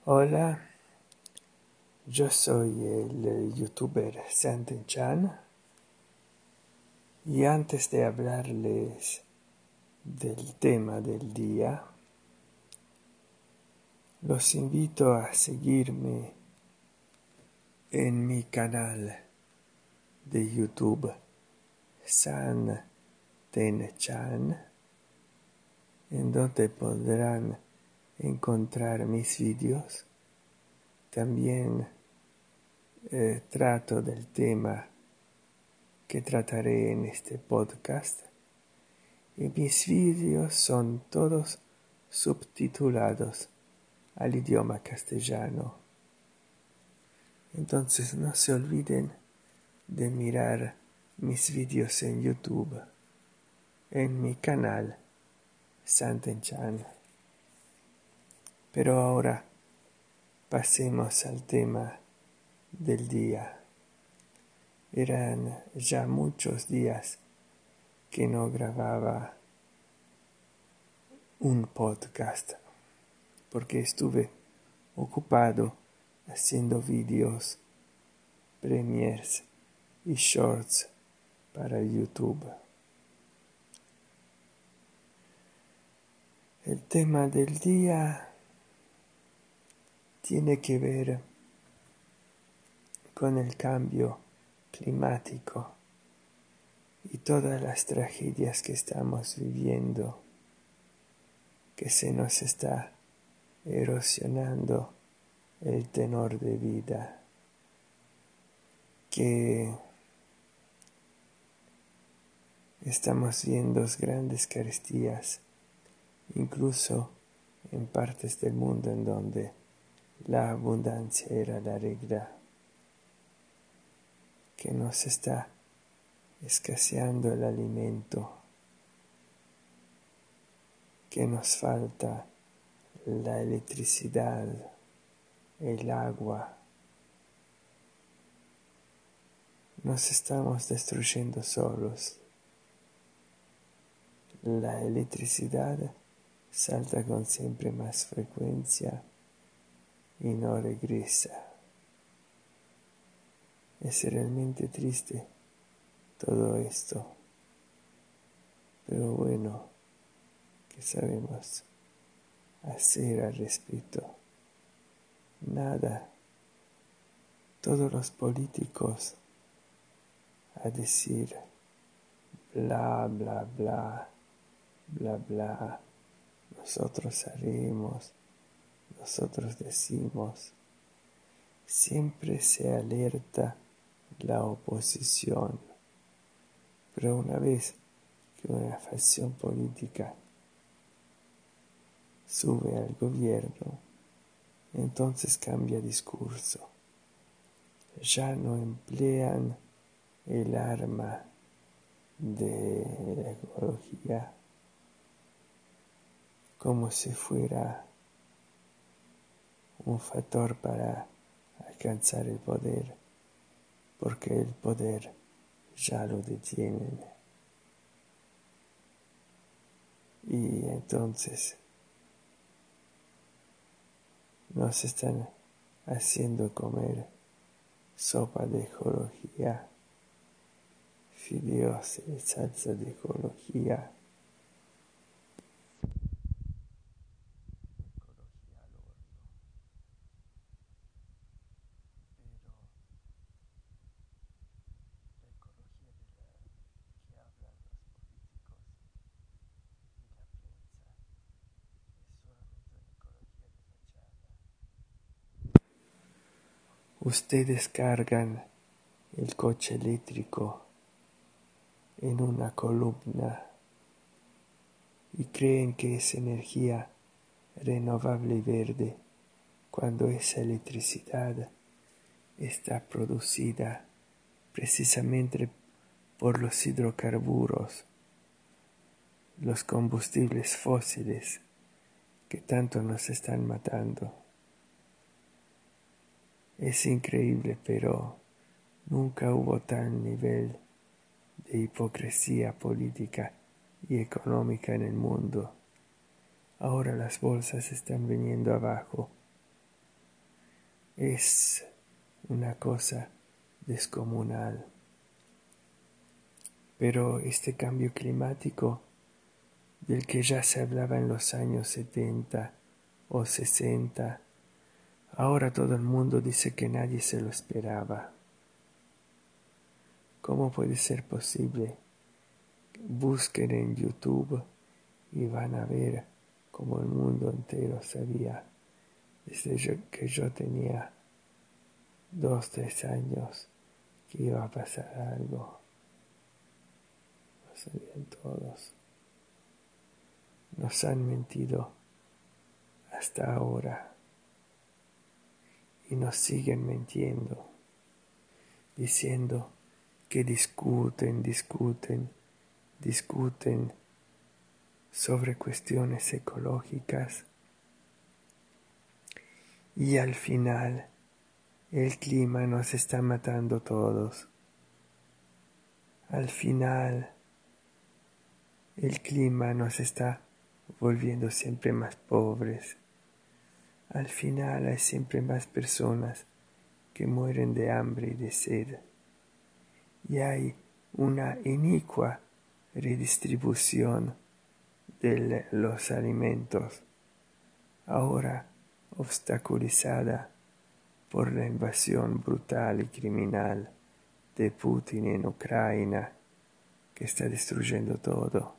Hola, yo soy el youtuber Santen Chan y antes de hablarles del tema del día, los invito a seguirme en mi canal de YouTube Santen Chan, en donde podrán encontrar mis vídeos. También trato del tema que trataré en este podcast y mis vídeos son todos subtitulados al idioma castellano. Entonces no se olviden de mirar mis vídeos en YouTube, en mi canal Santen Chan. Pero ahora pasemos al tema del día. Eran ya muchos días que no grababa un podcast porque estuve ocupado haciendo vídeos, premiers y shorts para YouTube. El tema del día tiene que ver con el cambio climático y todas las tragedias que estamos viviendo, que se nos está erosionando el tenor de vida, que estamos viendo grandes carestías, incluso en partes del mundo en donde la abundancia era la regla, que nos está escaseando el alimento, que nos falta la electricidad, el agua. Nos estamos destruyendo solos. La electricidad salta con siempre más frecuencia y no regresa. Es realmente triste todo esto, pero bueno, ¿qué sabemos hacer al respecto? Nada. Todos los políticos a decir bla, bla, bla, bla, bla, nosotros haremos, nosotros decimos. Siempre se alerta la oposición, pero una vez que una facción política sube al gobierno, entonces cambia discurso. Ya no emplean el arma de la ecología como si fuera un factor para alcanzar el poder, porque el poder ya lo detienen. Y entonces nos están haciendo comer sopa de ecología, fideos y salsa de ecología. Ustedes cargan el coche eléctrico en una columna y creen que es energía renovable y verde, cuando esa electricidad está producida precisamente por los hidrocarburos, los combustibles fósiles que tanto nos están matando. Es increíble, pero nunca hubo tal nivel de hipocresía política y económica en el mundo. Ahora las bolsas están viniendo abajo es una cosa descomunal. Pero este cambio climático del que ya se hablaba en los años 70 o 60, ahora todo el mundo dice que nadie se lo esperaba. ¿Cómo puede ser posible? Busquen en YouTube y van a ver cómo el mundo entero sabía, desde que yo tenía 2, 3 años, que iba a pasar algo. Lo sabían todos. Nos han mentido hasta ahora y nos siguen mintiendo, diciendo que discuten sobre cuestiones ecológicas y al final el clima nos está matando todos. Al final el clima nos está volviendo siempre más pobres. Al final hay siempre más personas que mueren de hambre y de sed. Y hay una inicua redistribución de los alimentos, ahora obstaculizada por la invasión brutal y criminal de Putin en Ucrania, que está destruyendo todo.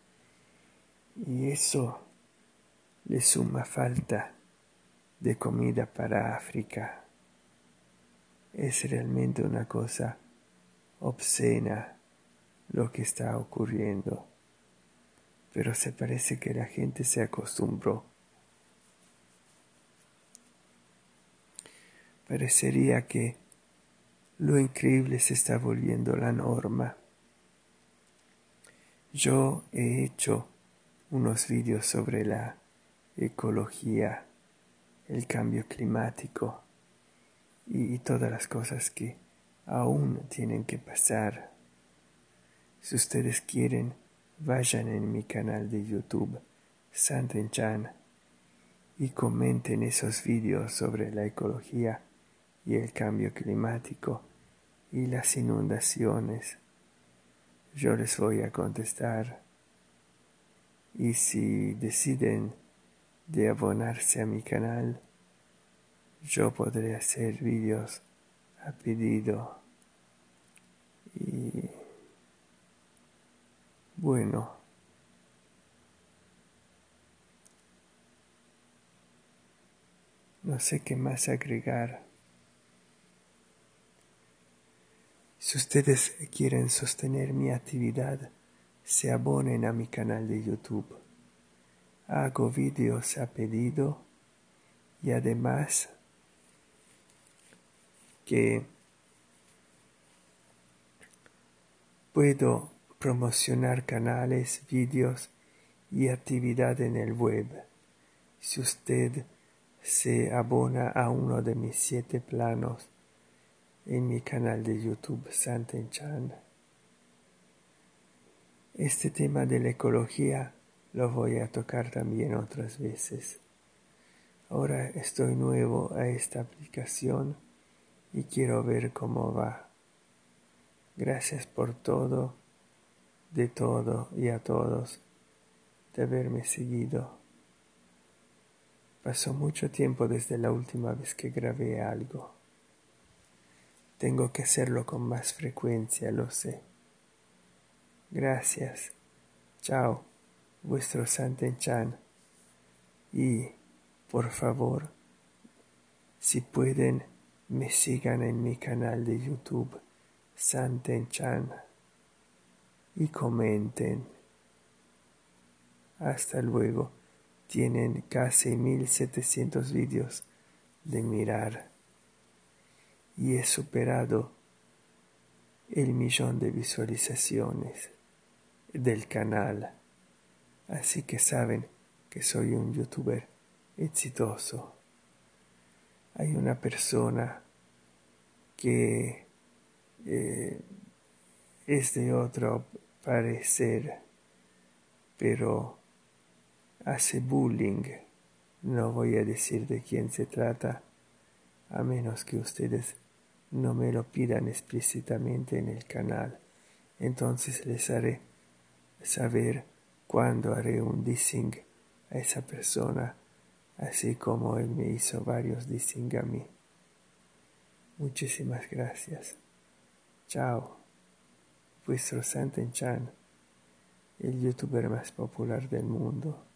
Y eso le suma falta de comida para África. Es realmente una cosa obscena lo que está ocurriendo, pero se parece que la gente se acostumbró. Parecería que lo increíble se está volviendo la norma. Yo he hecho unos vídeos sobre la ecología, el cambio climático y todas las cosas que aún tienen que pasar. Si ustedes quieren, vayan en mi canal de YouTube, Santen-chan, y comenten esos vídeos sobre la ecología y el cambio climático y las inundaciones. Yo les voy a contestar. Y si deciden de abonarse a mi canal, yo podré hacer vídeos a pedido. Y bueno, no sé qué más agregar. Si ustedes quieren sostener mi actividad, se abonen a mi canal de YouTube. Hago vídeos a pedido y además que puedo promocionar canales, vídeos y actividad en el web. Si usted se abona a uno de mis 7 planos en mi canal de YouTube Santen-chan. Este tema de la ecología lo voy a tocar también otras veces. Ahora estoy nuevo a esta aplicación y quiero ver cómo va. Gracias por todo, de todo y a todos de haberme seguido. Pasó mucho tiempo desde la última vez que grabé algo. Tengo que hacerlo con más frecuencia, lo sé. Gracias. Chao, vuestro Santen-chan. Y, por favor, si pueden, me sigan en mi canal de YouTube, Santen-chan, y comenten. Hasta luego. Tienen casi 1700 vídeos de mirar. Y he superado el 1.000.000 de visualizaciones del canal. Así que saben que soy un youtuber exitoso. Hay una persona que es de otro parecer, pero hace bullying. No voy a decir de quién se trata a menos que ustedes no me lo pidan explícitamente en el canal. Entonces les haré saber cuándo haré un dissing a esa persona, así como él me hizo varios dissing a mí. Muchísimas gracias. Chao. Vuestro Santen Chan, el youtuber más popular del mundo.